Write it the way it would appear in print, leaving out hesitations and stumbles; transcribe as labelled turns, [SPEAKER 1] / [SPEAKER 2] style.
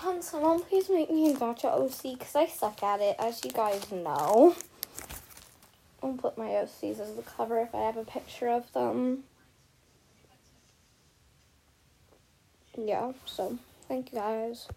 [SPEAKER 1] Can someone please make me a gacha OC? Because I suck at it, as you guys know. I'll put my OCs as the cover if I have a picture of them. Yeah, so thank you guys.